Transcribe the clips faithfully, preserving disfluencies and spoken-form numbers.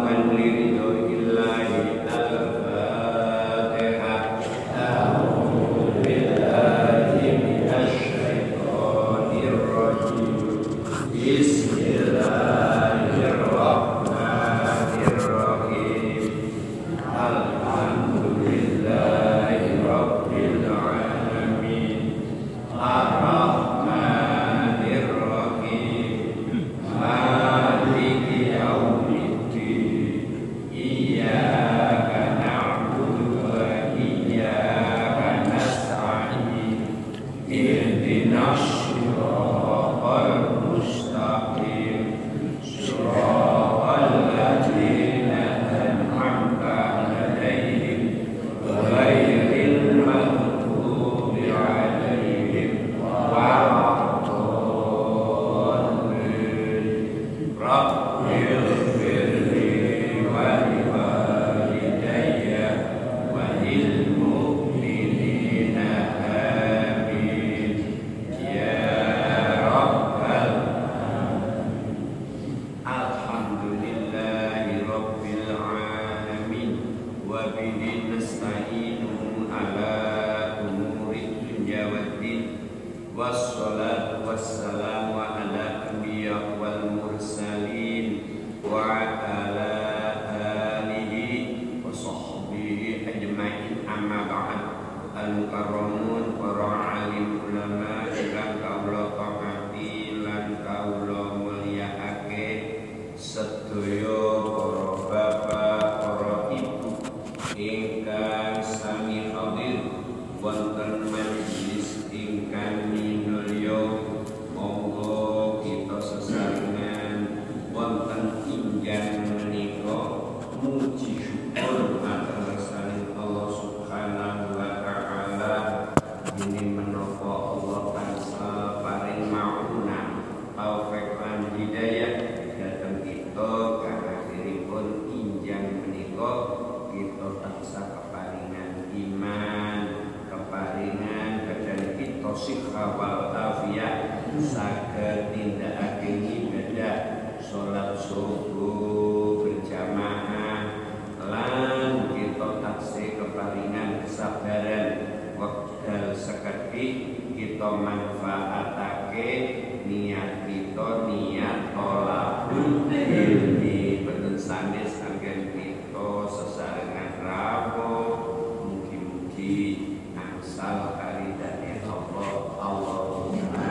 muwafiqan li ridhoillahi al-Fatihah. A'udzu billahi minasy syaithanir rajim. Bismillahirrahmanirrahim. Alhamdulillahi rabbil alamin. Ar-Rahmanir Rahim. Maliki yaumiddin. Iyyaka na'budu wa iyyaka nasta'in. Ihdinas siratal mustaqim. Siratal ladzina an'amta 'alaihim ghairil maghdubi 'alaihim waladdallin. Rabbighfirli wa liwalidayya wa lil mu'minina amin. Ya Rabbal Alhamdulillahi Rabbil Alamin. Wa bihi nasta'inu ala umuri dunya waddin. Wassalatu wassalamu ala anbiya wal mursalin wa ala alihi wa sahbihi ajma'in, amma ba'd. Al-mukarramun para alim ulama ingkang kawula hormati lan kawula mulyakake, sedaya para bapak, para ibu ingkang sami hadir wonten majelis ingkang minulya. Monggo kita sesarengan wonten injang menika muji syukur atas Allah Subhanahu wa taala. Ini menapa Allah tansah paring mauna taufik lan hidayah dhateng kita kangge injang menika kita tansah keparingan iman, keparingan badan kita siha wal afiyah, saged nindakake ibadah salat subuh berjamaah, lan kita taksih keparingan kesabaran wekdal sekedhik kita manfaatake niat kita niat thalabul ilmi boten sanes anggen kita sesarengan rawuh. Mugi-mugi angsal karidane Allah. Allahumma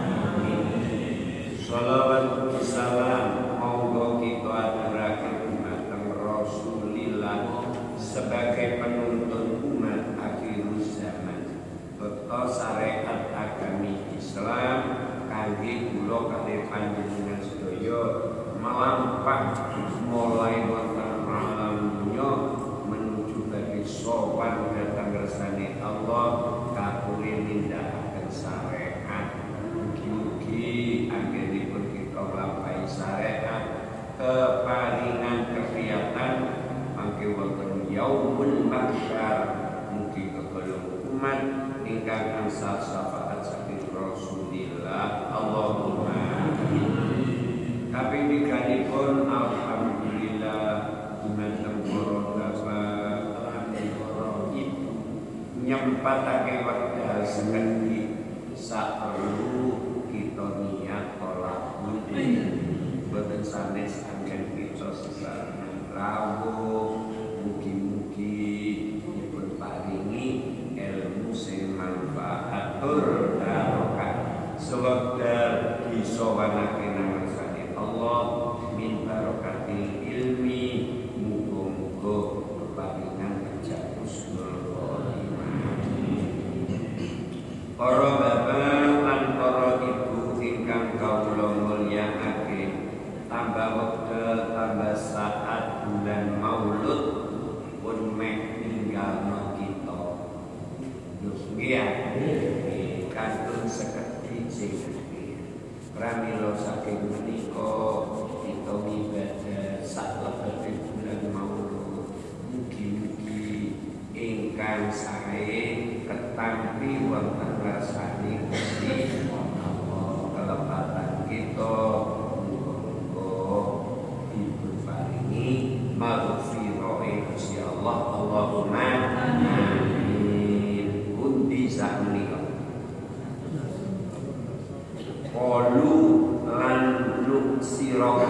amin. Shalawat salam monggo kita aturake dumateng Rasulillah sebagai penuntun umat akhir zaman. Bekta syariat agami Islam kangge kula kalih panjenengan sedaya melampah mulai wonten alam dunya menuju bagi sowan dhateng ngersane Allah kapulih nindakaken syariat. Mugi-mugi anggenipun kita nglampahi syariat keparingan kegiatan mangke wonten yaumul mahsyar. Mugi kegolong umat ingkang angsal syafaat saking Rasulillah. Allahumma amin. Kaping tiganipun alhamdulillah dumateng para bapak lan para ibu nyempatake wekdal sekedhik saperlu kita niat thalabul ilmi. Boten sanes anggen kita sesarengan rawuh. Mugi-mugi dipun paringi ilmu sing manfaatur barokah sewekdal disowanake nang ngersane Allah min barokatil ilmi. Muga-muga keparingan kerja husnul khotimah. Para bapak lan para ibu ingkang kawula mulyakake, tambah wekdal tambah saat bulan Maulud pun meh ninggalno kita. Nggih ya, kantun sekedhik pramila saking menika kita ibadah sak lebete bulan Maulud. Mugi-mugi ingkang sae ketampi wonten ngersane Gusti Allah kelepatan kita. Muga-muga dipun paringi sira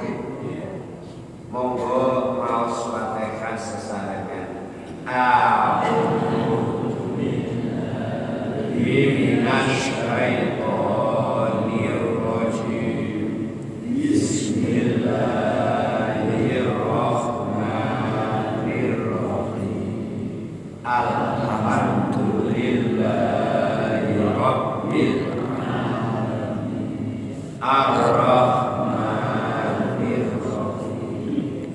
monggo maos Fatihah sesarengan. A'udzu billahi minasy syaithanir rajim. Bismillahirrahmanirrahim. Alhamdulillahi rabbil alamin. Ar-Rahmanir Rahim.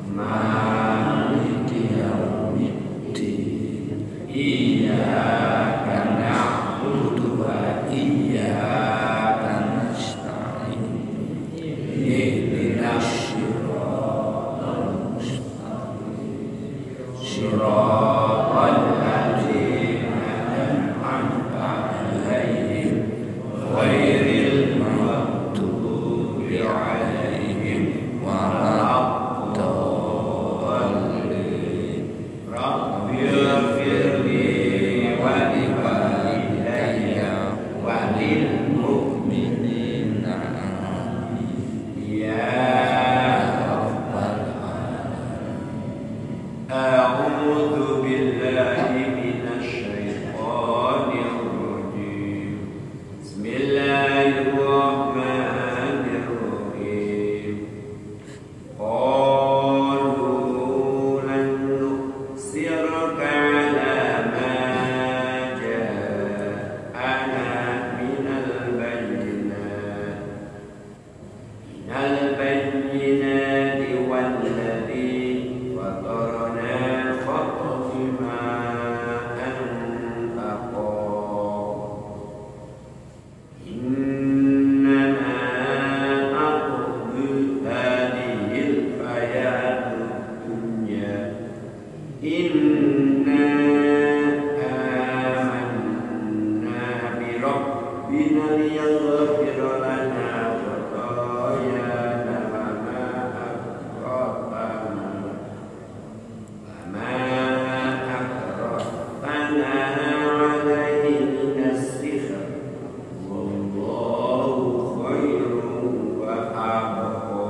Maliki yaumiddin. Iyyaka na'budu wa iyyaka nasta'in. Ihdinas siratal mustaqim. Siratal ladzina an'amta 'alaihim ghairil maghdubi 'alaihim waladdallin. Rabbighfirli wa liwalidayya wa lil mu'minina amin. Ya rabbal alamin. A'udzu billahi minasy syaithanir rajim. Bismillahirrahmanirrahim. Qalu lan nu'siraka 'ala ma ja'ana minal bayyinat minal bayyinati walladzi fatarna faqdi ma anta qad. Innama aqdi hadhil hayatud dunya. Inna amanna bi rabbina liyaghfir lana khatayana wa ma akratana wa ma akratana 'alaihi minas-sihr. Wallahu khairun wa abqa.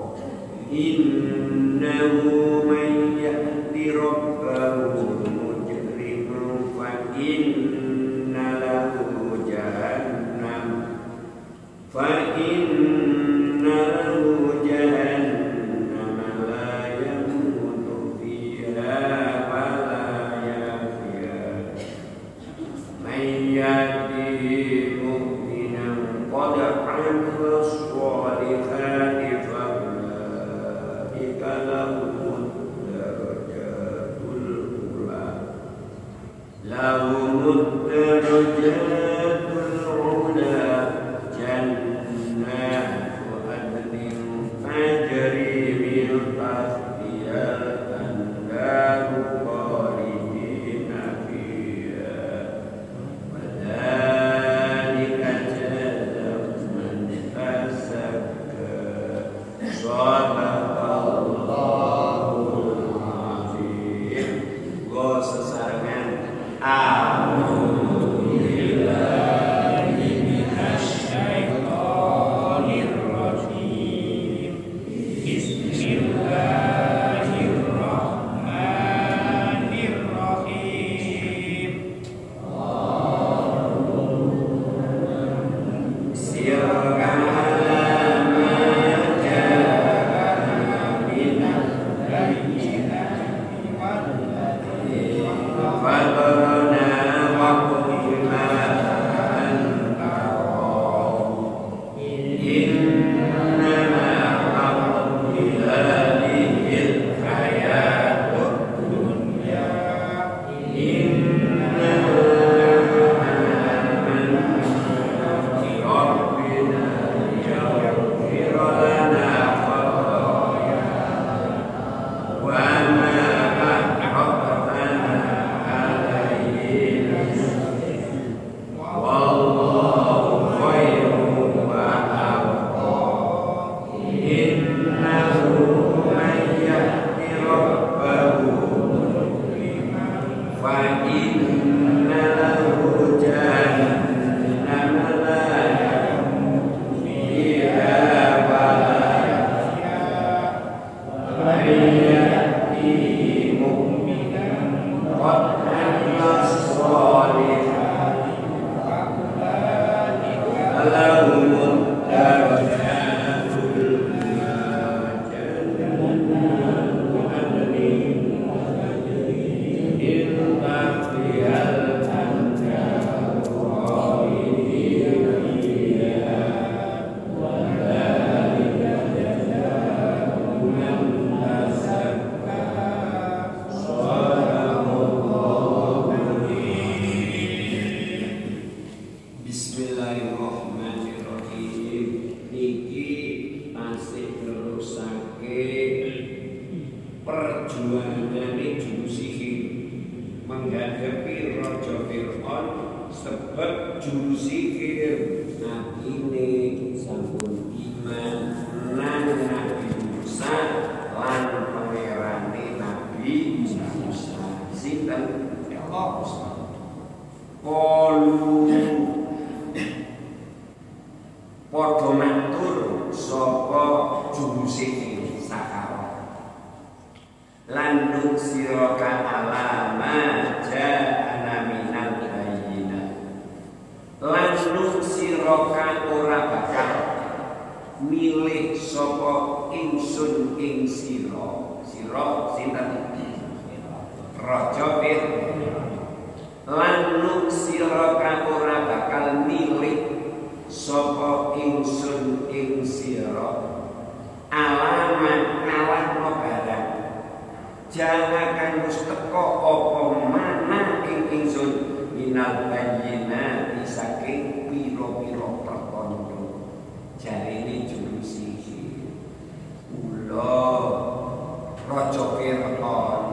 Innahu man ya'ti rabbahu mujriman fa inna lahu jahannam fa inna lahu jahannam la yamutu fiha wa la yahya. Man yahdihi mu'minan qad 'amila as-salihati fa ulaika lahumud darajatul ula. Lahumud darajatul ula jannatu adnin tajri min tahtihal anharu khalidina fiha wa walahumud darajatul ula jannatu adnin min tahtihal anhar khalidina fiha wa dzalika jazaa'u man tazakka. Bismillahirrahmanirrahim. Niki tasih nerusake perjuangane juru sihir menghadapi Raja Fir'aun, sebab juru sihir nabine sampun iman nang Nabi Musa lan pangerane Nabi Musa. Sinten? Allah. Qalu padha matur sapa juru sihir sakara lan nuksiraka alama ja'ana minal bayyinah lan nuksiraka ora bakal milih sapa ingsun ing sira. Sira sinten? Raja Fir'aun. Lan nuksiraka ora bakal milih sapa ingsun ing sira alamat ngalahno barang jangan wis teka apa mana ing ingsun minal bayyinati saking pira-pira perkara. Jarine juru sihir, ula Raja Fir'aun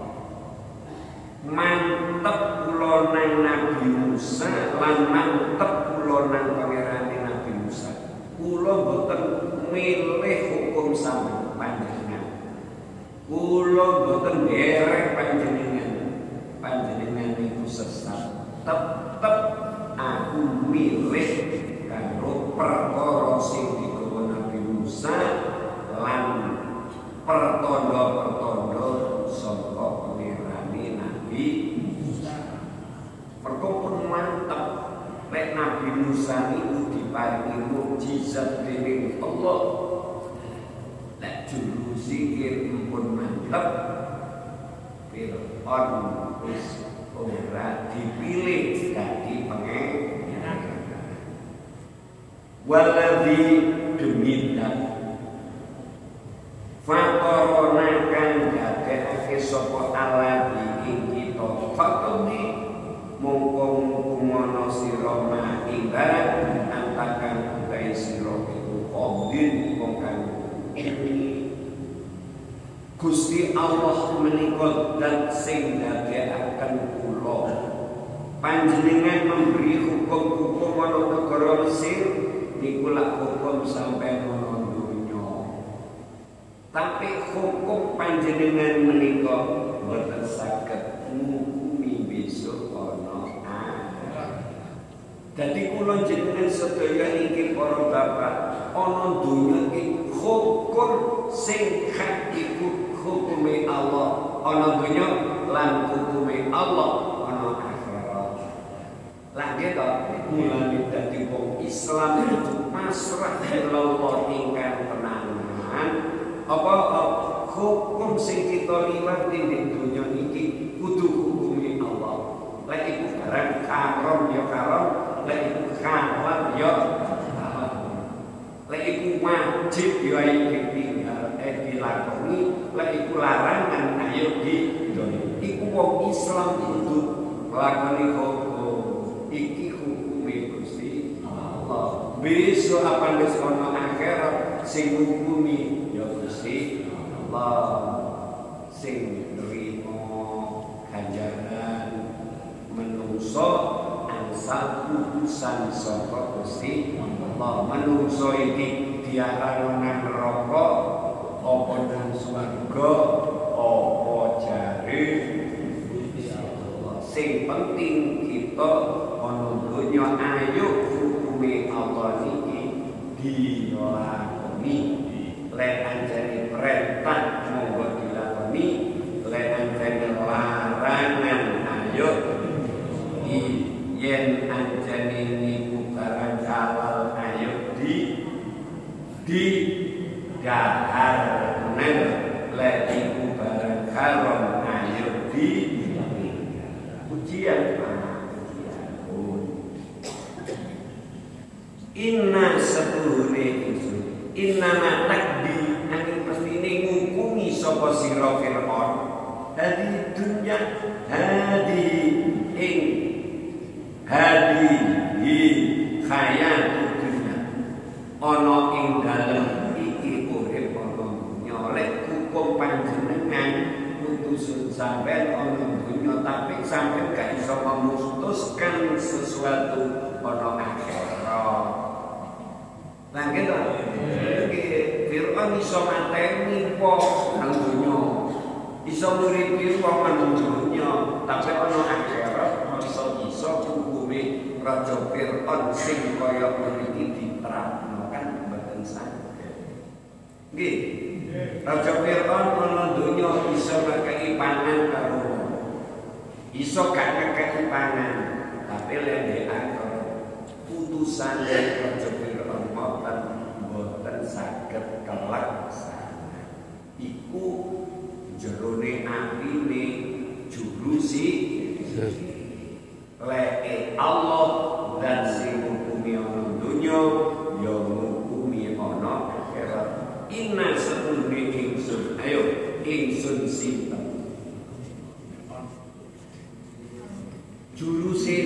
mantep kula nang Nabi Musa lan mantep kula nang pangerane Nabi Musa. Kula boten milih hukum sampeyan panjenengan. Kula boten nderek panjenengan. Panjenengan itu sesat. Tetep aku milih karo perkara sing digawa Nabi Musa lan pertanda-pertanda saka pangerane Nabi Musa. Mergo pun mantep lek Nabi Musa itu diparingi mukjizat dening Allah. Lek juru sihir pun mantep, Fir'aun wis ora dipilih dadi pangeran. Waladzi demikian fatorona kang dadekake sapa Allah ing kita fatoni mongko kumono sira ma ibarat antakan utai sira iku qadir wong kang Gusti Allah menika zat sing ndadekaken kula panjenengan memberi hukum-hukum ana negara Mesir niku lak hukum sampai ana donya. Tapi hukum panjenengan menika boten saged ngukumi besok ana akhirat. Dadi kula jenengan sedaya iki para bapak ana donya iki hukum sing hak iku hukume Allah ana donya lan hukume Allah ana akhirat. Lah gitu, mulane dadi wong Islam itu pasrah Allah ingkang tenanan. Apa hukum sing kita liwati di dunia iki kudu hukumi Allah. Lek iku barang haram ya haram, lek iku halal ya halal. Lek iku wajib ya iki tinggal eh dilakoni, lek iku larangan ayo didoni. Iku wong Islam kudu nglakoni hukum. Iki hukume Gusti Allah. Besok apa wis ana akhirat sing hukumi ya Gusti Allah, sing nrimo ganjaran menungso ansal putusan saka Gusti Allah. Menungso iki diarani nang neraka apa nang swarga apa jare Gusti Allah. Sing penting kita ana donya ayo hukume Allah niki dilakoni. Lek anjane perintah monggo dilakoni, lek anjane larangan ayo yen anjane niku barang halal dahar nel lagi barang haram ayo di ujian inna setuhune ingsun inna matakdi angin mestine ngukumi sapa sira Fir'aun hadi dunya hadi ing hadi hi khayat dunya ana ing dalem iki urip ana nyolek hukum panjenengan putusun sampean ana dunya tapi sampean gak iso memutuskan sesuatu ana akhirat. Nah gitu, Fir'aun iso mateni wong nang dunya, iso nguripi wong nang dunya, tapi ana akhirat iso iso hukume Raja Fir'aun sing kaya mriki diterapno kan mboten saged. Nggih. Raja Fir'aun ana dunya iso ngekeki pangan karo wong. Iso gak ngekeki pangan, tapi lendekan putusan dari Raja Fir'aun mboten mboten saged kelaksana. Iku jerone apine jurusi leke Allah dan sing ngukumi ana dunya ya ngukumi ana akhirat. Inna satune ingsun ayo ingsun sinten juruse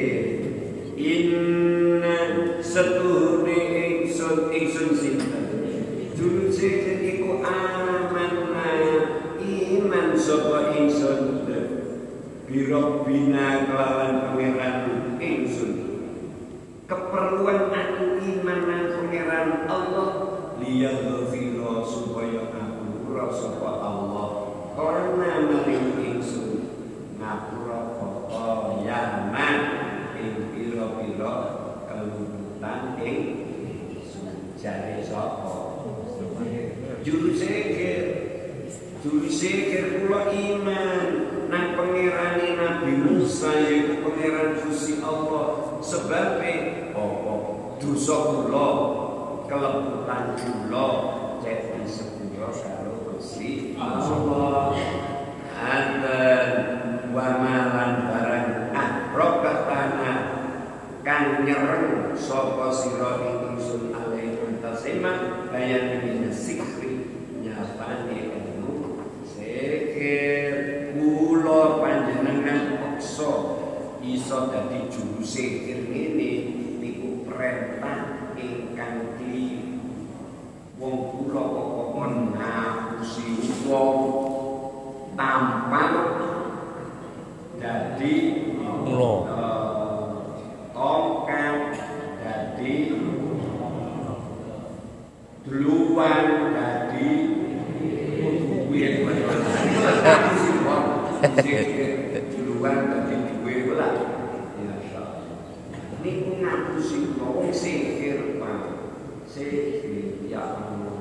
inna satune ingsun ingsun sinten juruse iku amanna iman sapa ingsun birabbina kelawan pangeran ingsun keperluan aku iman nang pangeran Allah liyaghfira supaya ngapura sapa Allah karena maring ingsun ngapura apa yana ing pira-pira kelumputan ing jare sapa juruse juruse kula iman nang pangerane Nabi Musa yaiku pangeran Gusti Allah sebabe apa dosa kula kelembutan kula cek disepuro karo Gusti Allah anten wa malan barang ahraka tanah kang nyereng sapa sira ingsun alaihi tasima bayan min sikri nyapane ilmu sikir kula panjenengan paksa iso dadi juru sikir ngene niku perintah ingkang kliru wong kula kok menahusi wong tampang dadi kula tongkang dadi duluan dadi duwe duluan dadi duwe lah niku ngapusi wong sihir Pak sihir ya Allah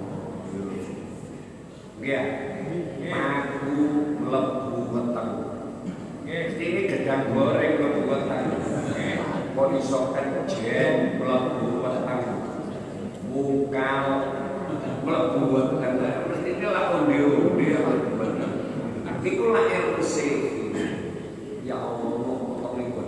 nggih aku mlebu weteng ini gedang goreng mlebu weteng kok iso kejen mlebu weteng mungkal mlebu weteng mesti lah onde-onde iku lah ilmu sihir ya Allah kok niku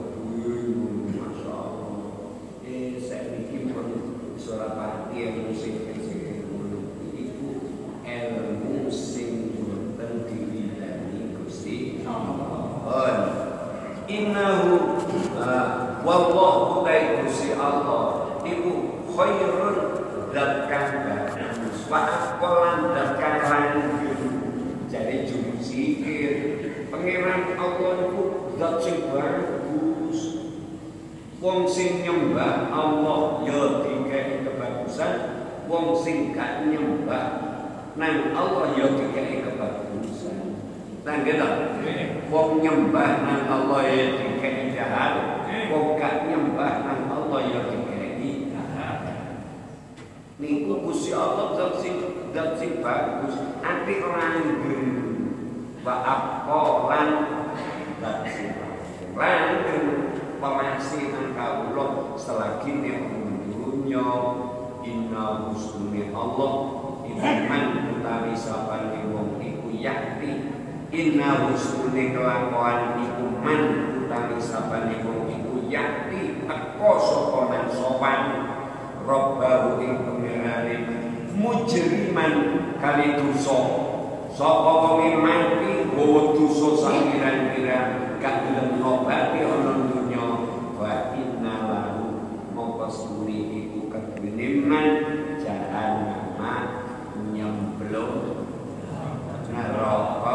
Surapati ilmu sihir-sihir itu ilmu sing boten diwilani Gusti Allah. Innahu wallahu ta'ala Gusti Allah iku khairun zat kang bagus wa aqwalan zat kang langgeng. Jadi juru sihir pangeran Allah iku zat sing bagus. Wong sing nyembah Allah ya dikei kebagusan, wong sing gak nyembah nang Allah ya dikei kebagusan. Nang gitu, wong nyembah nang Allah ya dikei jahat, wong gak nyembah nang Allah ya dikei jahat. Niku Gusti Allah zat sing zat sing bagus, ati langgeng, wa aqwalan zat sing langgeng. Pemasih nang kawula selagi nek dunya inna husnul Allah iman utawi sapane wong iku yakti inna husnul kelakuan iku man utawi sapane wong iku yakti teko sapa man sopan robbahu ing pengerane mujriman kali dosa sapa wong mati nggawa dosa sakiran-kiran gak gelem nobati ana dunya wa inna lahu mongko suni iku kedune man jahannam nyemplung neraka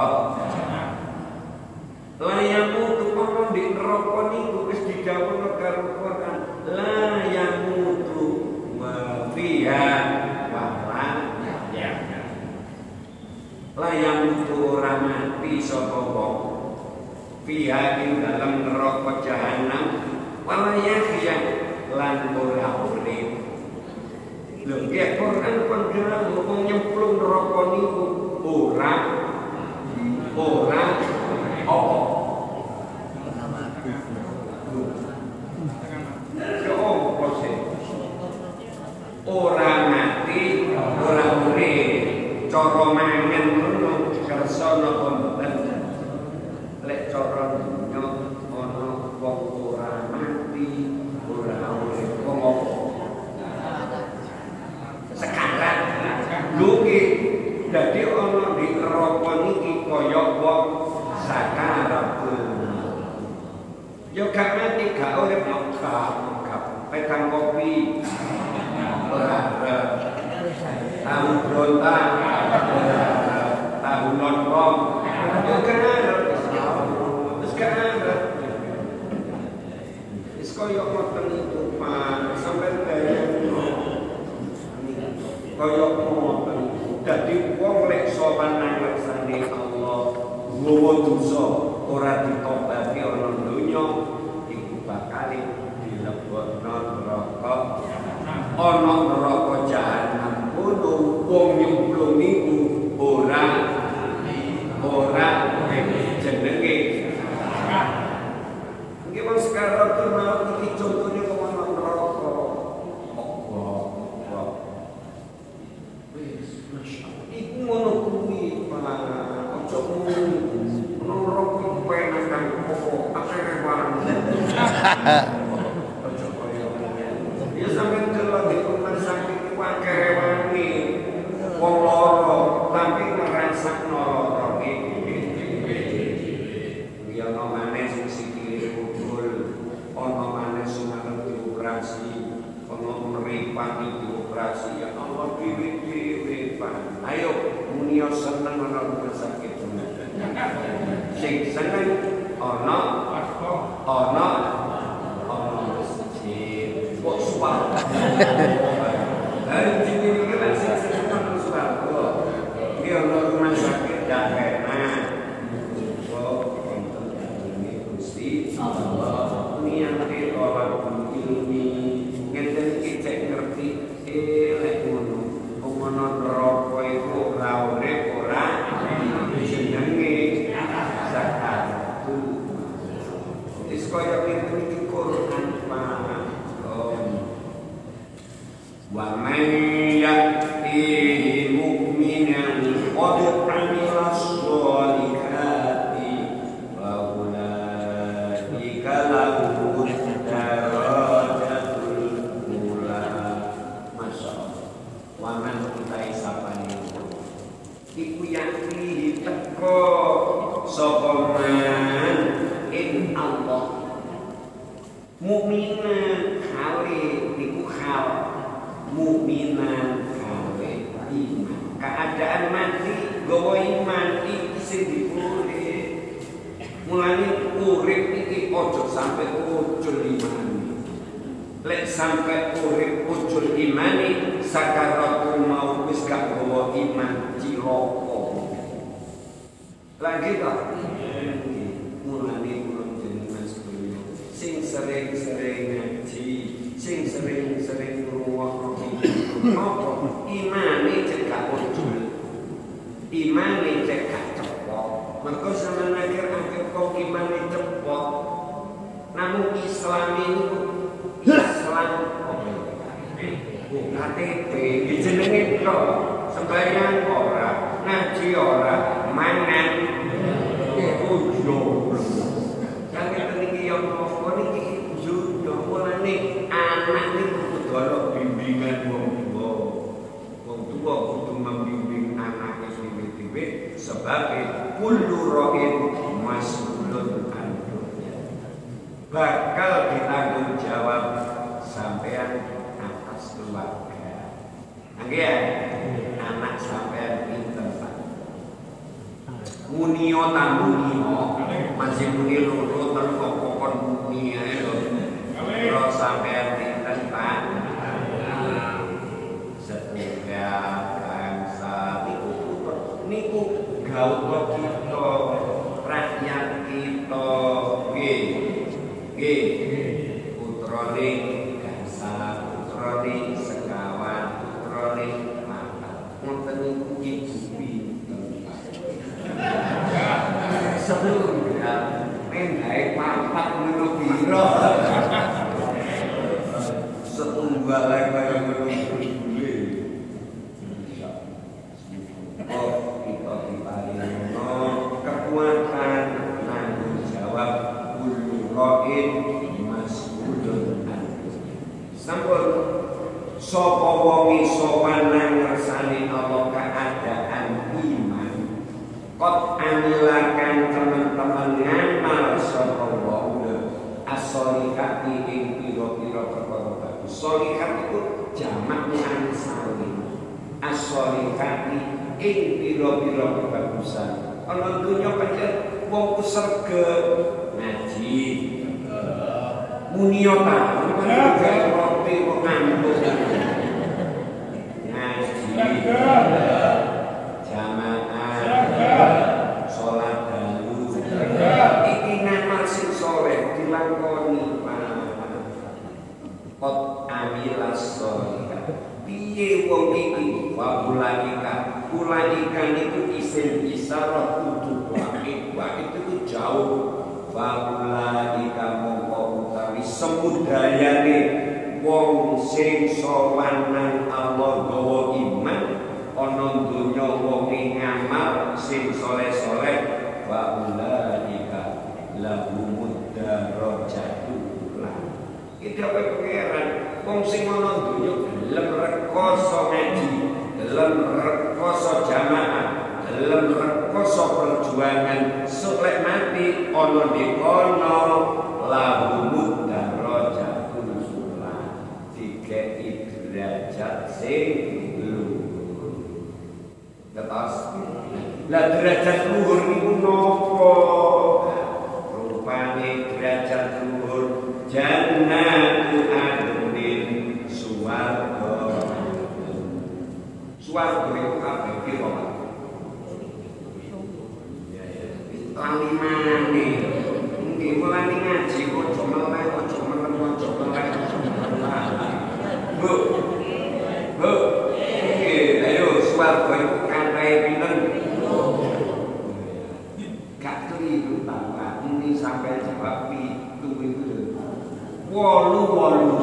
layamu tukono di neraka niku wis didhawuhna karo Quran layamutu wa fiha wa la ya layamutu ora mati sapa wong fiha ing dalam neraka jahanam wala yahya lan ora urip lho nggih Quran kon bilang wong nyemplung neraka niku ora ora apa ora mati ora urip cara mangan ngono kersa napa mboten lek cara dunya ana wong ora mati ora urip wong apa sekarang lho iki dadi ana di neraka niki kaya wong sakaratul yo gak mati gak urip gak gak pegang kopi ora tahu brontak tahu lontong yo gak wis gak ada wis kaya ngoten itu Pak sampai daya kaya ngoten dadi wong lek sopan nang ngersane Allah nggawa dosa ora ditobati ana donya iku bakal dilebokno neraka ana neraka jahanam kudu wong nyemplung niku ora ora jenenge nggih wong sekarang tuh mau iki contohnya kok ana neraka Allah wis masyaallah iku ngono kuwi Pak ojo ngono neraka penak kan kok akhire barang ya sampeyan delok di rumah sakit wae rewangi wong loro tapi ngrasakno lara iki ya ono maneh sing sikile kubul ono maneh sing arep dioperasi ono mripate dioperasi ya Allah dhewe-dhewe Pak ayo muni seneng ana rumah sakit sing seneng ana ana ana masjid kok suara hari ini kita sing suara ini ana rumah sakit daerah kok wonten ini Gusti Allah niate orang ilmi ngeten iki cek ngerti elek ngono ngono neraka iku ora urip ora jenenge zakatul wis kaya ngene iki Quran Pak wa man ya'tihi mu'minan qad 'amila sholihati wa ulaika lahum darajatul ula masyaallah wa man utai sapane iku yakti teko sapa man in Allah mukminan kali niku hal mukminan kali iman keadaan mati gawa iman iki sing dipure mulane urip iki ojo sampai ujul iman lek sampai urip ujul imani sakaratul maut wis gak gawa iman cilaka lagi tak mulane kula jenengan sedaya sing sering-sering ngaji sing sering-sering ngrungokno apa imane cek gak ujul imane cek gak cepot mergo sampeyan akhir-akhir kok imane cepot namun Islam ini Islam K T P jenenge kok sembahyang ora, ngaji ora, mangan ujo. Kang ngeten iki yo apa niki yo mulane anak niku kudu ana bimbingan wong tuwa. Wong tuwa kudu membimbing anake dhewe-dhewe sebab kullu ra'in mas'ulun an bakal ditanggung jawab sampean atas keluarga. Nggih ya, anak sampean pinter Pak. Munio tamunio masih muni loro telu kokon muni ae lho. Kalau sampean pinter Pak. Setiap bangsa niku niku gaul kita, rakyat kita nggih. Nggih. Putrane Gansal, putrane Sekawan, putrane Mata. Ngoten niku ibu pinten. Sebelum ya, mendae papat ngono pira. Setunggal ae kaya ngono kuwi. Oh, kita diparingono kekuatan nanggung jawab kullu ra'in mas'ulun an. Sampun sapa wong iso nang ngersani Allah keadaan iman. Kot amilakan teman-teman ngamal sapa wong as-solihati ing pira-pira perkara bagus. Solihat itu jamak muannas salim. As-solihati ing pira-pira kebagusan. Ana dunya pancen wong surga ngaji. Munio ta, ngaji roti kok ngantuk. Ngaji. Jamaah. Salat dalu. Iki ngamal sing saleh dilakoni Pak. Qad amilas sholihat. Piye wong iki wa ulaika. Ulaika niku isim isyarat kudu wae. Wae itu jauh. Wa ulaika mongko utawi semudayane wong sing sowan nang Allah gawa iman ana donya wong ngamal sing saleh-saleh wa ulaika lahumud darajatul ula. Iki apa pengeran wong sing ana donya gelem rekoso ngaji, gelem rekoso jamaah, gelem rekoso perjuangan sulek mati ana di kono lahumud darajatul ula. Dikeki derajat sing luhur. Tetas. Lah derajat luhur niku napa? Rupane derajat luhur jannatu adnin suwarga. Suwarga itu kabeh piro, Pak? Lalimane. Nggih mulane ngaji aja meleh, aja melem, aja meleh. Bu. Bu. Nggih, ayo suwarga itu kathah pinten? Gak keliru Pak. Ini sampai jawab pitu itu. Wolu wolu.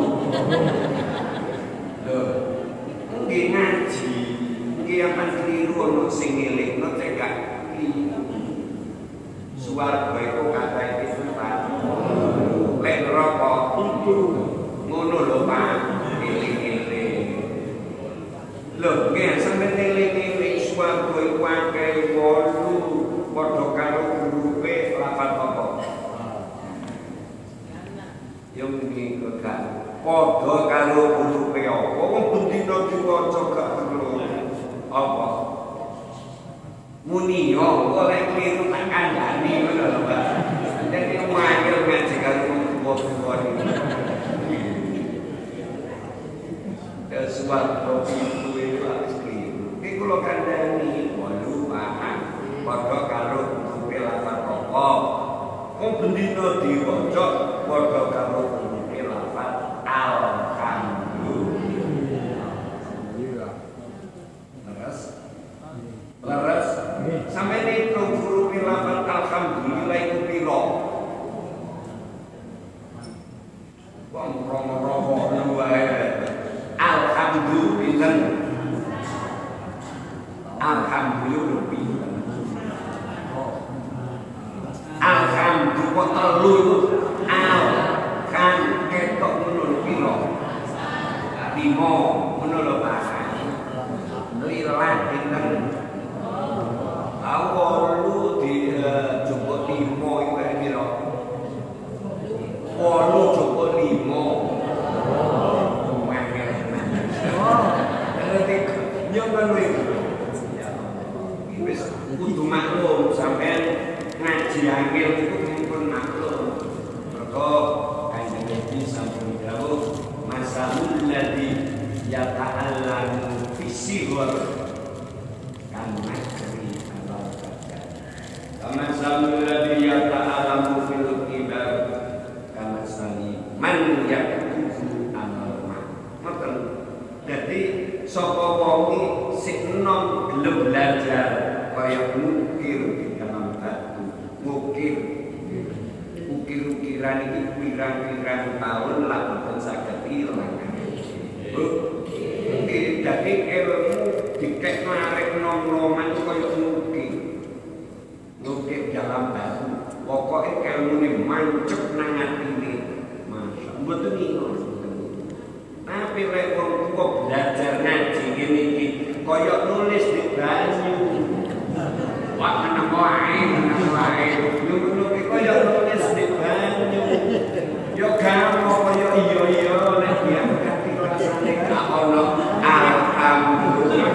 Loh, nggih ngaji, nggih akan keliru ono sing ngelingno cek gak keliru. Suwarga iku kathah pitu Pak. Lek neraka itu ngono lho Pak. Eling-eling. Loh, nggih sampeyan eling-eling suwarga iku akeh wolu padha karo hurufe lapan apa? Yo muni kok gak padha karo hurufe apa? Wong bendina diwaca gak perlu. Apa? Muni yo oleh kliru tak kandhani ngono lho, Pak. Dadi ngangel ngaji karo wong tuwa iki. Ya suwarga itu itu harus kliru. Iki kula kandhani wolu paham padha karo hurufe lapan apa? Wong bendina diwaca padha karo hurufe lapan alhamdulillah. Leres? Leres? Sampai ini hurufe lapan alhamdulillah itu piro? Wong romo-romo wae. Alhamdulillah. yo pinter. Alhamdulillah telu itu al kan ketok ngono piro? Limo ngono lho Pak. Kuwi Latin kan. Awolu di jupuk limo iku piro? Wolu jupuk limo. Yo ngono iki. Wis kudu maklum sampean ngaji angel iku pun maklum. Mergo Kanjeng Nabi sampun dawuh masalul ladzi yata'allamu fisighar kana kri al-barakah. Kama salul ladzi yata'allamu fil kibar kama sali man yakufu amal. Ngoten. Dadi sapa wong sing enom gelem belajar kaya ngukir di dalam batu, ngukir ukir-ukiran iki pirang-pirang tahun lah boten saged ilang. Oke, dadi ilmu dikek narik nom-noman kaya ngukir. Ngukir dalam batu. Pokoke ilmune mancep nang atine. Masya mboten ngono. Tapi lek wong tuwa belajar ngaji ngene iki kaya nulis di banyu. Wah meneng wae, meneng wae. Yo ngono iki kaya nulis di banyu. Yo gampang kaya iya-iya nek diangkat rasane gak ono alhamdulillah.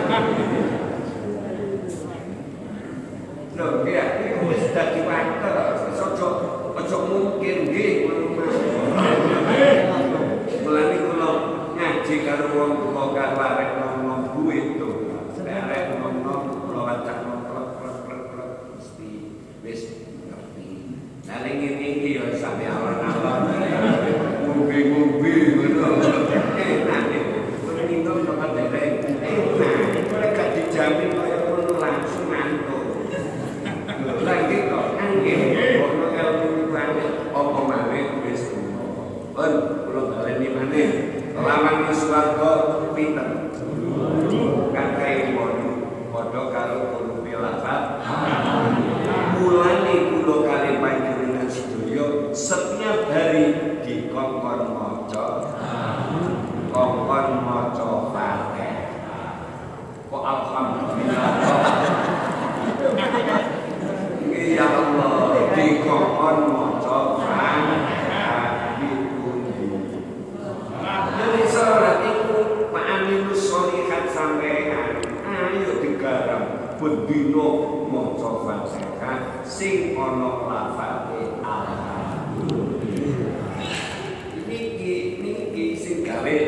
Lho, ya iki wis dadi water, wis ojo ojo mungkin nggih ngono mas. Mulane kula ngaji karo wong tuwa karo arek nom-nom duit to. Arek nom-nom kula wacak klek-klek mesti wis ngerti. Lah ning ngene ya sampe alon-alon. Ngombe-ngombe ngono. Enak iki. Kuwi minum kok dereng. Enak. Ora gak dijamin kaya ngono langsung mantuk. Lah iki kok anggen ono ilmu banget apa maneh wis ngono. Pun kula baleni maneh. Lawan swarga pinten? Kakai wono padha karo kurupe lafal. Mulane kula kali panjenengan sedaya setiap hari dikongkon maca. Kongkon maca Fatihah. Kok alhamdulillah. Ya Allah, dikongkon maca Fatihah. Jadi sholat itu ma'amilus sholihat sampean. Ayo digarap bendino maca Fatihah sing ana lafale alhamdulillah. Niki niki sing gawe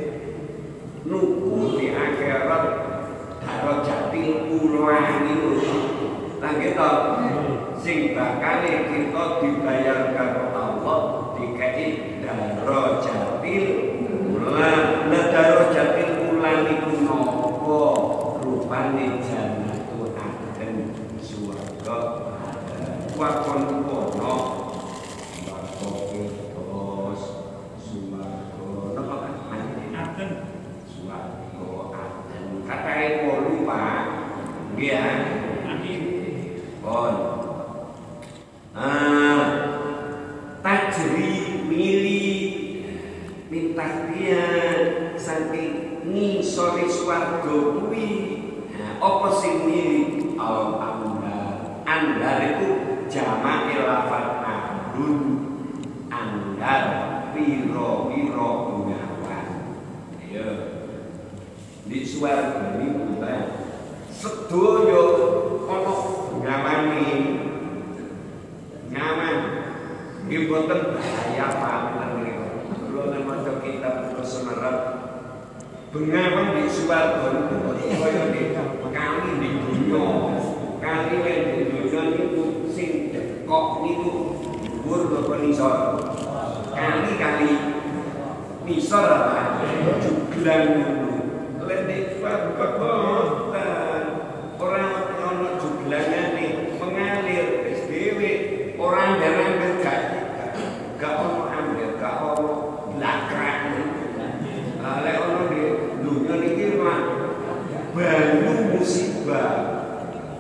nuku di akhirat darajatil ula niku. Lah kita sing bakal kita dibayar karo Allah dikai darajatil ula. Lah darajatil ula niku napa? Rupane jannatu adn swarga. Wakon kono bakoke terus swarga. Napa kan? Adn swarga adn. Katae wolu Pak. Nggih. Amin. Pon. Ah. Tajri mili minta dia saking ngisore swarga kuwi. Nah, apa sing mili al-amdar. Andar itu jamak lafal amrun. Andar piro-piro bengawan. Ayo. Di swarga niku ta sedaya ana bengawane. Ngaman. Nggih boten bahaya paten niku. Kula nek maca kitab Sunnah bengawan di swarga niku kaya kali di dunya. Kali nek di dunya niku sing dekok niku dhuwur apa nisor. Kali-kali nisor apa juglan niku. Lek di swarga boten ora ono juglangane mengalir wis dhewe ora ndang gak gak ono ambil gak ono lakrak. Lek ono di dunya niki mah banyu musibah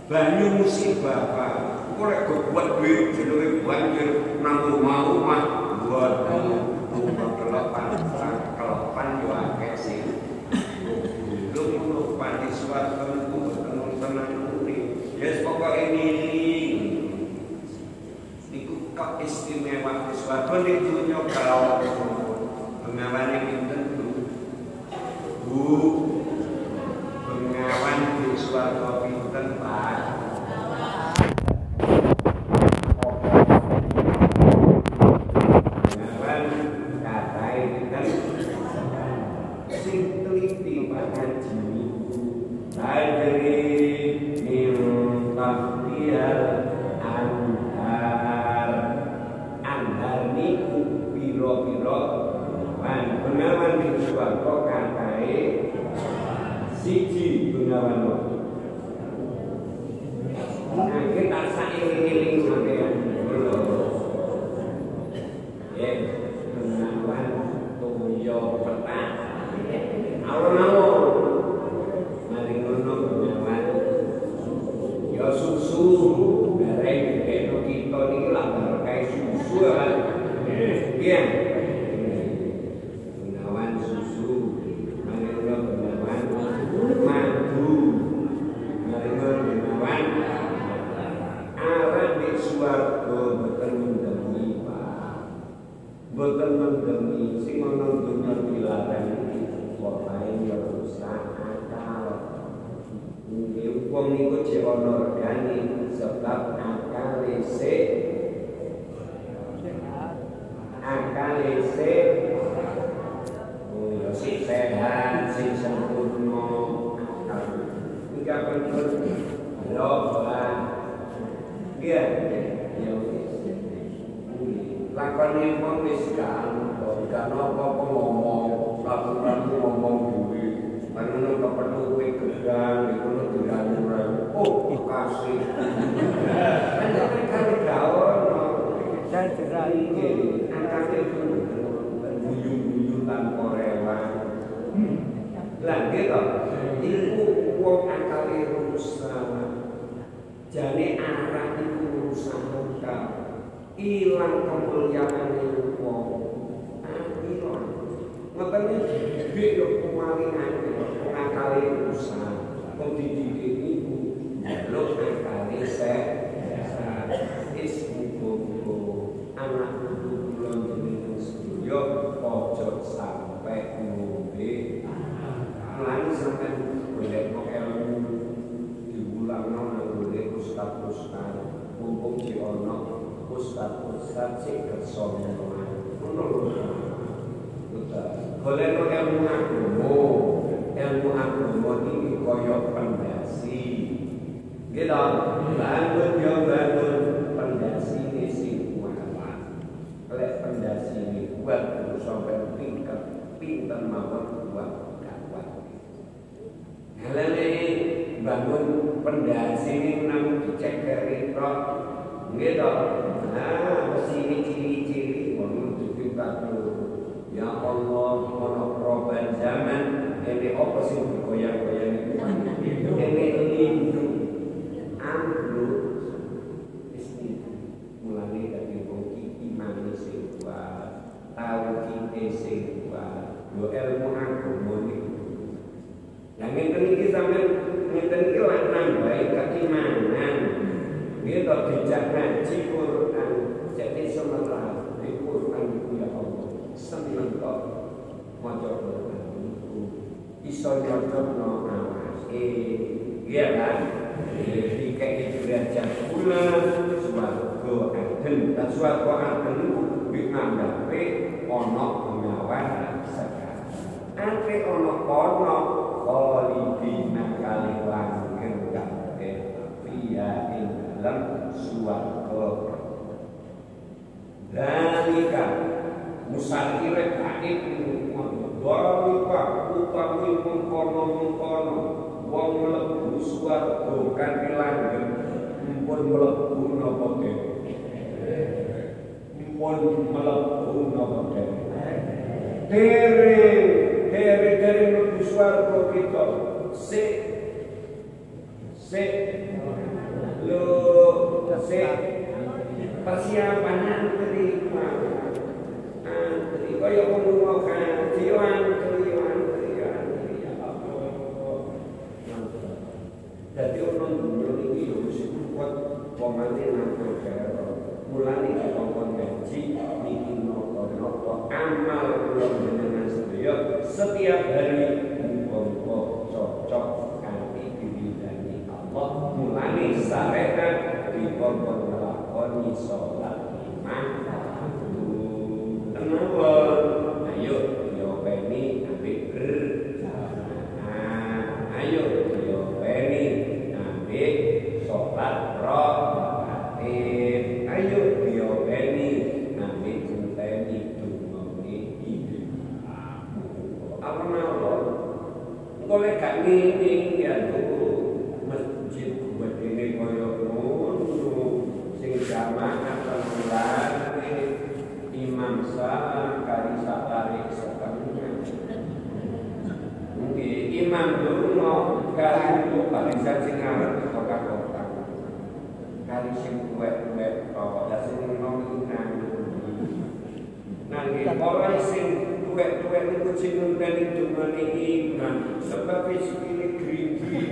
banyu musibah Pak. Korek buat duit jenenge banjir nang omah-omah buat rumah kelepan kelepan yo akeh sih. Lu ngono panis swarga niku boten tenan kuwi. Yes pokoke nili. Niku keistimewaan swarga ning dunya kalau pengawane pinten Bu? Bu pengawan di swarga pinten Pak? Siji bengawan waktu. Nah, kita sairing-iring sampeyan lho. Ya, bengawan toyo petang. Alon-alon. Mari ngono bengawan. Ya susu, bareng dikeno kita niki lak berkah susu kan. Iya. Bengawan susu. Boten mendemi sing ana dunya dilarang pokoke ya rusak akal. Nggih wong niku jek ana regane sebab akal sik akal sik oh ya sik sehat sik sempurna akal. Iki penting lho Pak. Nggih ya lakone wong wis kan kan apa-apa ngomong lakukan ngomong dhewe ana kepethuk kowe gedang iku diranur oh kasih ana kali gawono dan cerai angkate guyu-guyu tanpa rewang lah gitu iku wong akale rusak jane arah iku rusak ilang kemuliaan itu wong ilang ngoten iki yo kemalingan ngakali usaha kok dididik iku lho ngakali sehat is mugo anak kudu kula jenengan sedaya ojo sampai ngombe lan sampeyan golek ilmu diulangno nang golek ustaz-ustaz mumpung di ono ustaz-ustaz sing kersa ngono lho. Golek ilmu agama, ilmu agama iki kaya pendasi. Nggih to, bangun yo bangun pendasi sing kuat. Lek pendasi kuat terus sampai tingkat pinten mawon kuat kuat. Halane bangun pendasi nang dicek kerita nggih to. Nah, mesti ciri-ciri wong dipinta ya Allah, ono perubahan zaman, ini apa sih goyang-goyang itu? Ini lindu, ambruk, mesti mulai dari wong iman sing kuat, tahu kita sing kuat, yo ilmu agama niku. Yang ngeten iki sampeyan ngeten iki lan nambahi keimanan. Kita dijak ngaji Quran, jadi semerah di Quran itu ya Allah, seneng kok maca Quran itu, iso nyocokno awake, iya kan? Dikei derajat kula swarga adem, dan swarga adem itu ngandhape ana pengawan sekarang. Ante ana kono khalidina kali langgeng kabeh fiya dalam suwarga. Dalika musakire kaib dalika utawi mengkono-mengkono wong mlebu suwarga kanthi langgeng mumpun mlebu napa mumpun mlebu napa dere dere dere mlebu suwarga kita sik sik persiapan antri antri kaya wong mau kaji antri antri antri ya Allah. Dadi ono dunya iki yo wis kuat pemane nang karo mulane dikongkon gaji niki nopo-nopo amal kula jenengan sedaya setiap hari muga-muga cocok kanthi diwidani Allah. Mulane syariat dikongkon nglakoni salat lima waktu. Kenapa? Ayo diopeni ambek berjamaah. Ayo diopeni ambek salat rakaat. Ayo diopeni ambek ngenteni dungane iki. Apa mawon? Engko lek gak ngene ya masjid wedine kaya ngono sing jamaah temulan imam sah kali sakare setengah. Nggih, imam lunga kali barisan sing ngarep kota-kota. Kali sing kuwet-kuwet kok ya sing ngono nang. Nanging ora sing kuwet-kuwet niku sing ngenteni dungane imam sebab sikile gring-gring.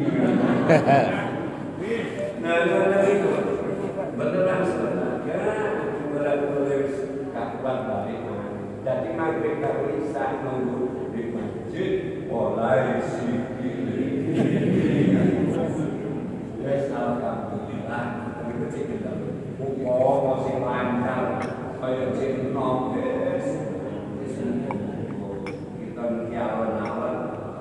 Nah, nah itu beneran sebenarnya mulai-mulai kapan balik jadi maghrib karo isya nunggu di masjid mulai sikili wes alhamdulillah itu sih kita muka masih lancar kaya sing nom wes kita niki awan-awan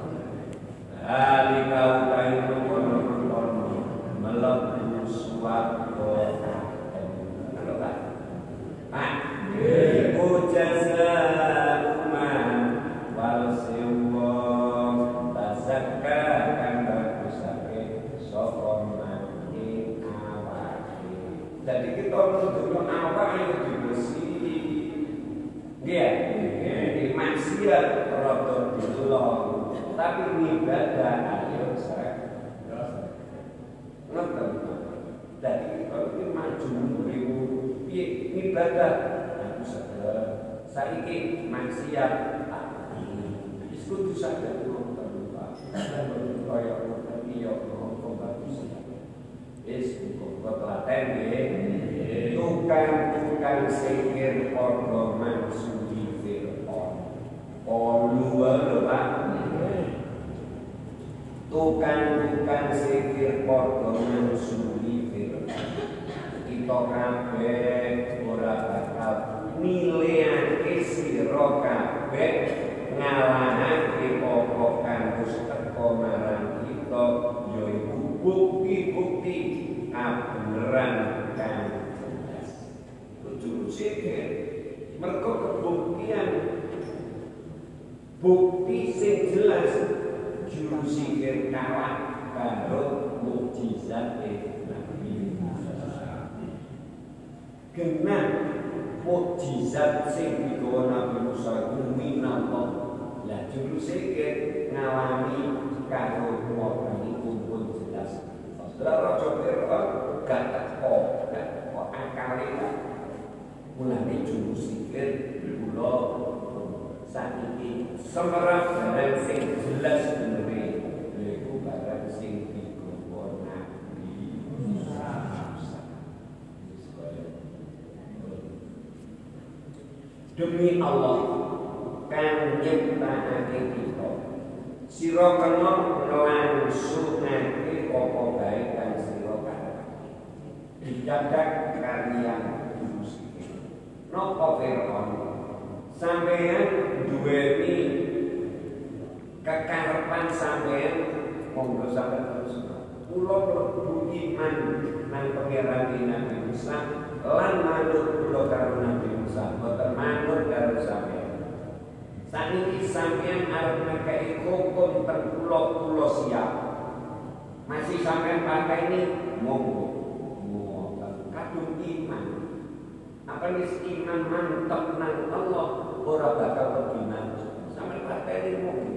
ali kau kain kono-kono melebu suwarga halo Pak Pak iku jasa man wal sewa tazakka kang bagusake sapa mati awake. Jadi kita nuduh awak ayo dibersih. Nggih, nggih maksiat rada dilong, tapi ibadah ayo srek. Ngoten. Jadi kita iki maju niku piye ibadah aku sadar saiki maksiat wis kudu sadar ngoten Pak. Kaya ngoten iya kok bagus. Wis kok telaten nggih. Tukang-tukang sikir padha mangsuli Fir'aun. Olu lho Pak. Tukang-tukang sikir padha mangsuli Fir'aun. Kita kabeh ora bakal nilaiake sira kabeh ngalahake apa kang wis teka marang kita yaiku bukti-bukti kabeneran kang jelas. Kudu sikir mergo kebuktian bukti sing jelas juru sikir kalah karo mukjizat Nabi Musa. Genah mukjizat sing digawa Nabi Musa iku minallah. Lah juru sikir ngalami karo wong iku pun jelas. Lah raja Fir'aun gak teko, gak teko akale. Mulane juru sikir kula sakniki semerap barang sing jelas bener iku barang sing digawa Nabi Musa. Demi Allah kang nyiptakake kita sira kena nglangsungake apa bae kang sira karepake didadak kaliyan juru sikir. Napa Fir'aun sampeyan duweni kekarepan sampeyan monggo sampeyan terus kula mlebu iman nang pangeran Nabi Musa lan manut kula karo Nabi Musa boten manut karo sampeyan. Saniki sampeyan arep ngekeki hukum ten kula siap. Masih sampeyan pakai ini monggo. Monggo kadung iman. Apa wis iman mantep nang Allah ora bakal lebih maju. Sampeyan pakai ini monggo.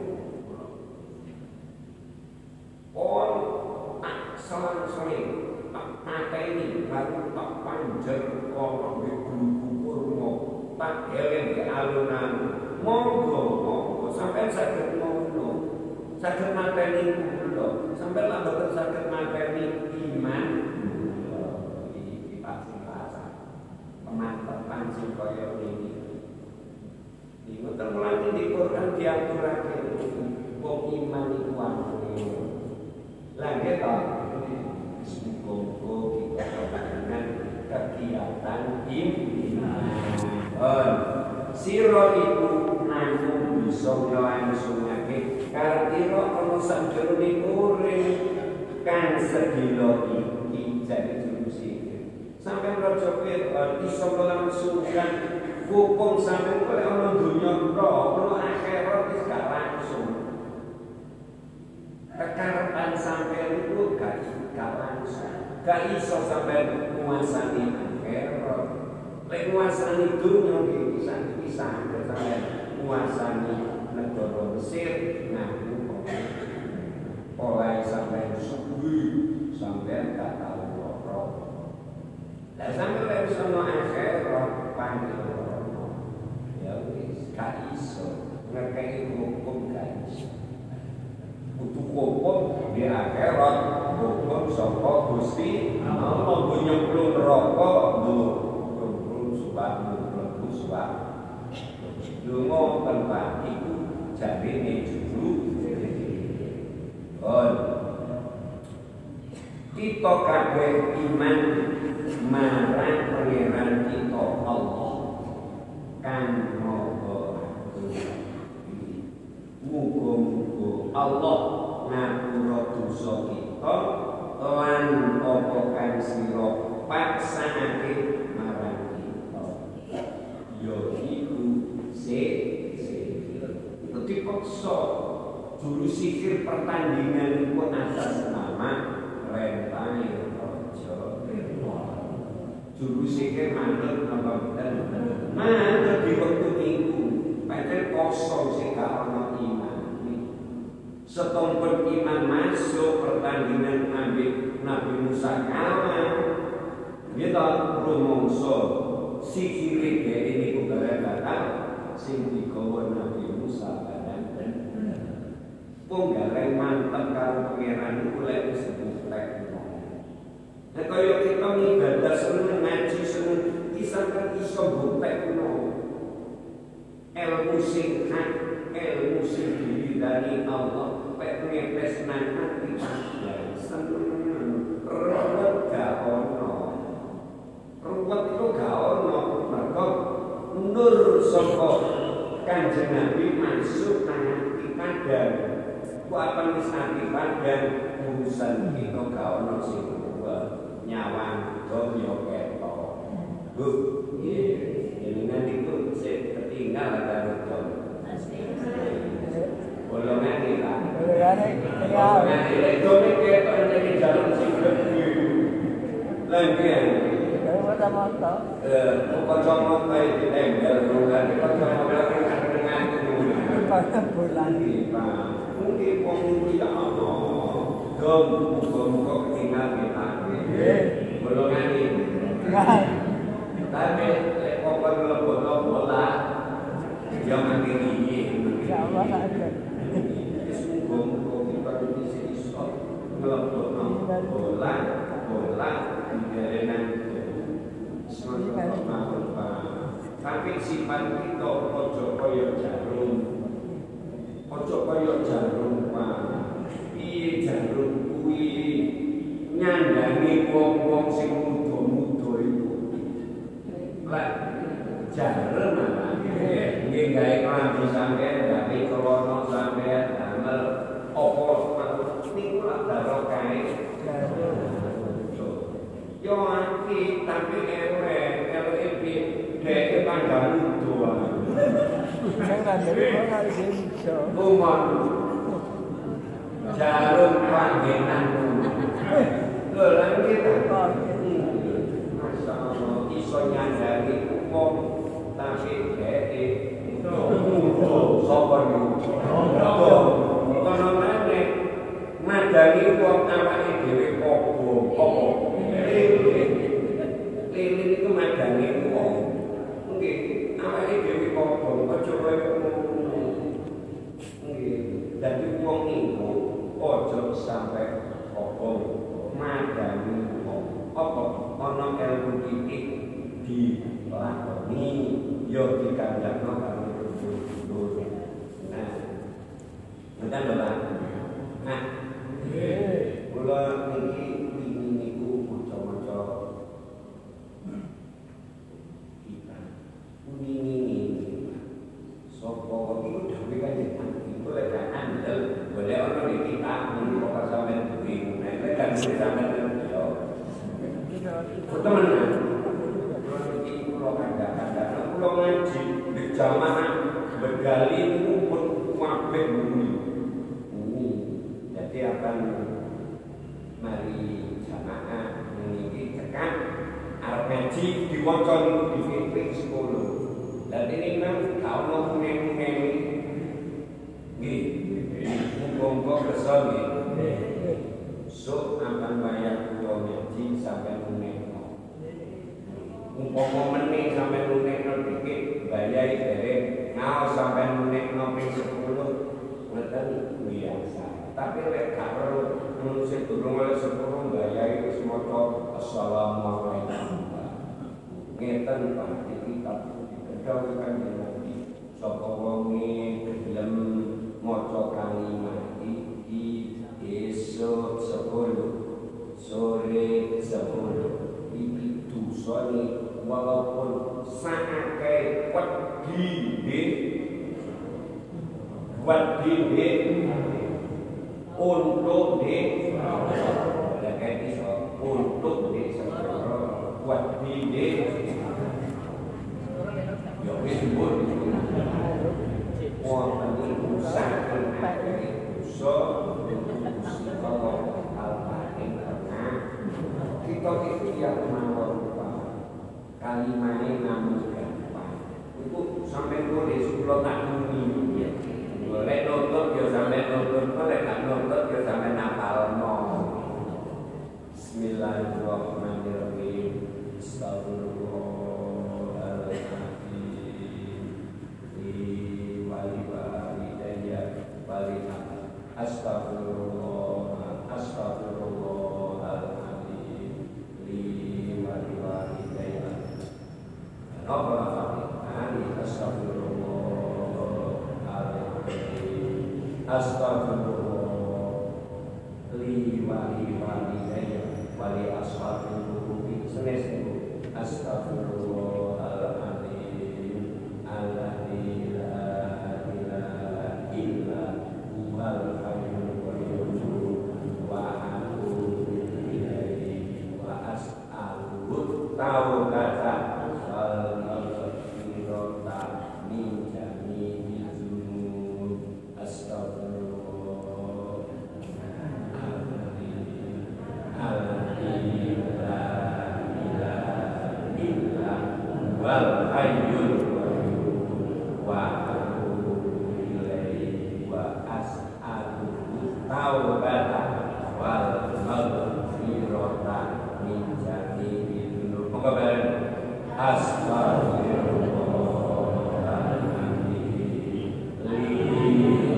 Oh, selang-seling pakai ini baru tak panjer ana di guru kurma tak eleng di alunan monggo monggo sampai saged ngono saged mateni kula sampai lan boten saged mateni iman kula iki pasti rasa pemantepan sing kaya ngene iki mboten mulane di Quran diaturake wong iman iku wae lan kita muga-muga kita dengan kegiatan iman sira iku namung bisa nglangsungake kartira ana sanjroning urip kang sedina iki jadi juru sihir sampai raja Fir'aun iso melangsungkan hukum sampai oleh ana dunya tok ana akhirat wis gak langsung kekarepan sampai itu gak gak langsung gak iso sampai menguasani akhirat lek menguasani dunya iki pisah-pisah sampai menguasani negara Mesir ngaku oleh sampai subuh sampai gak tahu loro lah sampai lek sono akhirat panggil ya wis gak iso ngekeki hukum gak iso butuh hukum di akhirat hukum saka Gusti Allah nyemplung neraka nyemplung suwarga mlebu suwarga lunga tempat iku jarine juru kita kabeh iman marang pangeran kita Allah kang maha muga-muga Allah ngapura dosa kita lan apa kang sira paksake marang kita ya iku sihir dipaksa juru sihir pertandingan itu atas nama Rentai Raja juru sihir manut apa bener manut di waktu minggu pancen kosong sing gak ana iman setompen iman masuk pertandingan ambil Nabi Musa kalah kita rumongso sihir dhek niku bareng batal sing digawa Nabi Musa bareng wong gareng mantep karo pangeran iku lek wis butek nek kaya kita ibadah seneng ngaji seneng kisah kan iso butek no ilmu sing hak ilmu sing diridani Allah pek ngepes nang ati ya seneng ruwet gak ono ruwet itu gak ono mergo nur saka Kanjeng Nabi masuk nang ati kadang ku apa wis ati kadang urusan kita gak ono sing nyawang donya ketok bu nggih jenengan iku sing ketinggal karo donya golongan iki Pak golongan iki lek donya ketok nek jalan sing gede lengken mata-mata eh kocok-kocok iki tembel golongan kocok-kocok dengan itu bulan iki Pak mungkin wong iki ya ono dom muga-muga ketinggal kita golongan ini tapi lek kokon mlebono bola ya mati iki insyaallah ada wis muga-muga kita bisa iso mlebono bola bola digarenan tapi sifat kita ojo kaya jarum ojo kaya jarum Pak piye jarum kuwi nyandangi wong-wong sing muda-muda iku. Lah jarum ana nggih gawe klambi sampeyan gawe celana sampeyan damel apa niku lak barokah yo anti tapi ewe ewe iki dhek pandang muda sing ngandeli ora iso umon jarum panggenan lho lan kita masyaallah iso nyandani wong tapi dhek muda sapa niku kono meneh madani wong awake dhewe apa apa lele Jadi wong iku ojo sampai obong madani wong apa ana ilmu titik dilakoni yo dikandakno karo dulur. Nah, ngeten lho Pak. Nah, nggih. Kula niki wingi niku maca-maca kita. Wingi sapa iku dhewe kanjeng Nabi kok lek andel boleh ana di kita mung kok sampeyan duwe nek kan sampeyan yo temenan iki kula kandhak-kandhak kula ngaji di jamaah begali pun kabeh muni jadi akan mari jamaah niki tekan arep ngaji diwaca niku di ping sepuluh. Dan ini memang kalau kuning-kuning nggih, muga-muga kesel nggih. So akan bayar kula ngaji sampai kuningno. Umpama meneh sampai kuningno dikit bayai derek ngaos sampai kuningno ping sepuluh ngoten biasa. Tapi lek gak perlu manusia durung oleh sepuluh bayai wis maca assalamualaikum. Ngeten Pak kitab dawuh Kanjeng Nabi sapa wonge gelem maca kalimat iki esuk sepuluh sore sepuluh iki dosane walaupun sakake wedi wedi untuk di ada kayak iso untuk di sepuluh wedi di yo wis mbok wonten iku saking dosa kalau al-fatih karena kita ikhtiar mawon kalimane namun gampang itu sampai nulis kula tak muni boleh nonton yo sampai nonton boleh tak nonton yo sampai napalno bismillahirrahmanirrahim astagfirullah astagfirullah astagfirullahaladzim li wali walidayya Rabbana fatihani astagfirullahaladzim astagfirullah li wali walidayya wali ashabil qulubi senes niku astagfirullahaladzim alladzi la ilaha illa huwal hayyul qayyum wa atubu ilaihi wa as'aluhu taubata wal maghfirata min jami'i dzunub astagfirullah alladzi la ilaha illa huwal hayyul qayyum wa taubata wal maghfirata min jami'i dzunub. Moga bareng astagfirullahaladzim li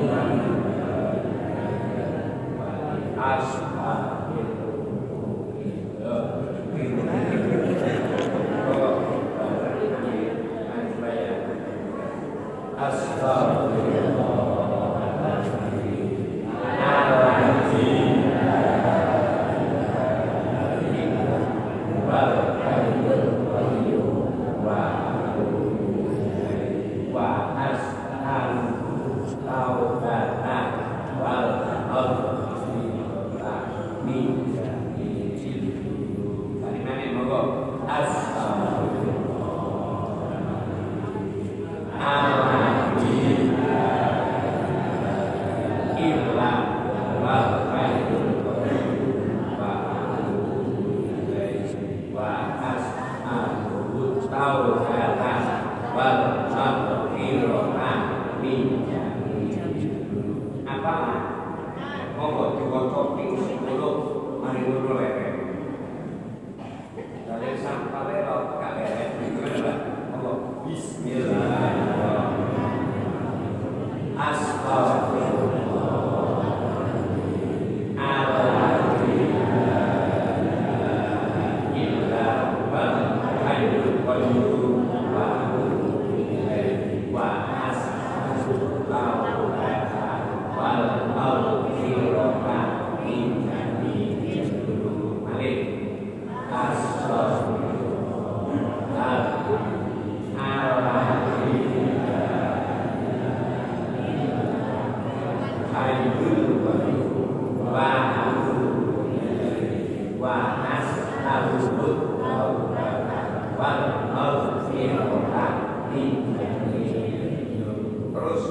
hayyul qayyum wa atubu ilaihi wa as'alul taubata wal maghfirata min dzambi. Terus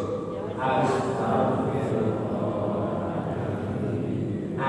astagfirullah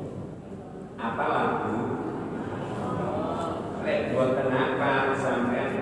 apa lagu? Lek buat kenapa sampai